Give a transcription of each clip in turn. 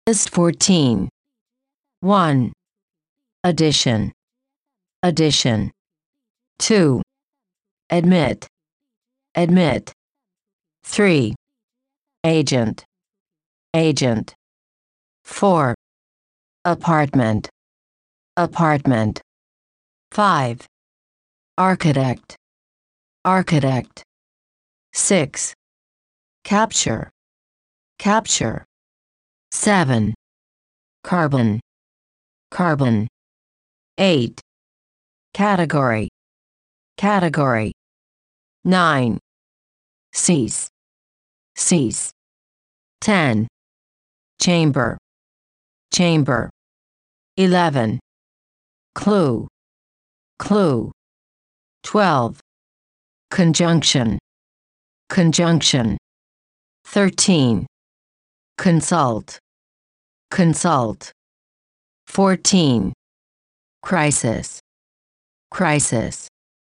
List 14. 1. Addition. Addition. 2. Admit. Admit. 3. Agent. Agent. 4. Apartment. Apartment. 5. Architect. Architect. 6. Capture. Capture. 7. Carbon. Carbon. 8. Category. Category. 9. Cease. Cease. 10. Chamber. Chamber. 11. Clue. Clue. 12. Conjunction. Conjunction. 13. Consult. Consult. 14. Crisis. Crisis.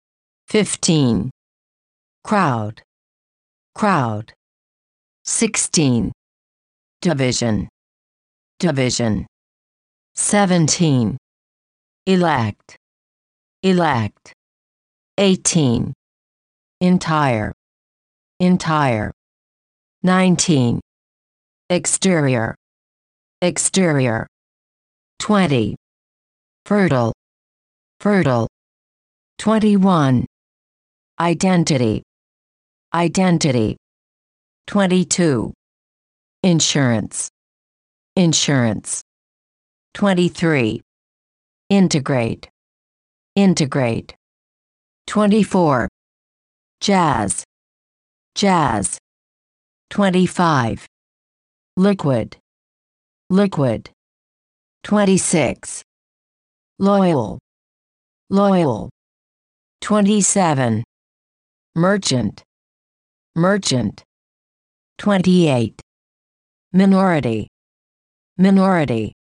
15. Crowd. Crowd. 16. Division. Division. 17. Elect. Elect. 18. Entire. Entire. 19. Exterior. Exterior. 20. Fertile. Fertile. 21. Identity. Identity. 22. Insurance. Insurance. 23. Integrate. Integrate. 24. Jazz. Jazz. 25. Liquid. Liquid. 26. Loyal. Loyal. 27. Merchant. Merchant. 28. Minority. Minority.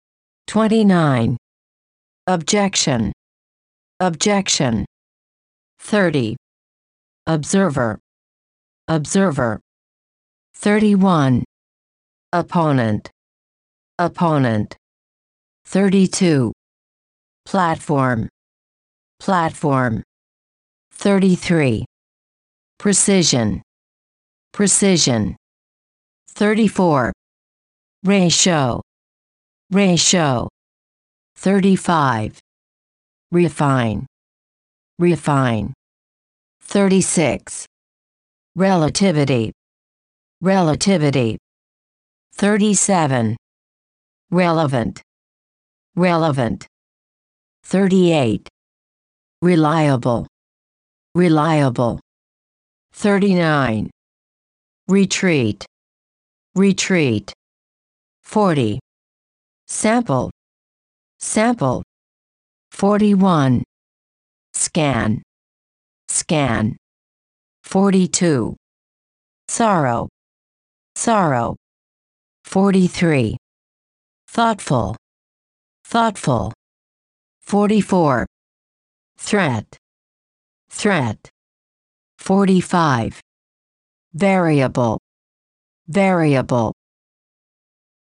29. Objection. Objection. 30. Observer. Observer. 31. Opponent. Opponent. 32. Platform. Platform. 33. Precision. Precision. 34. Ratio. Ratio. 35. Refine. Refine. 36. Relativity. Relativity. 37. Relevant. Relevant. 38. Reliable. Reliable. 39. Retreat. Retreat. 40. Sample. Sample. 41. Scan. Scan. 42. Sorrow. Sorrow. 43. Thoughtful. Thoughtful. 44. Threat. Threat. 45. Variable. Variable.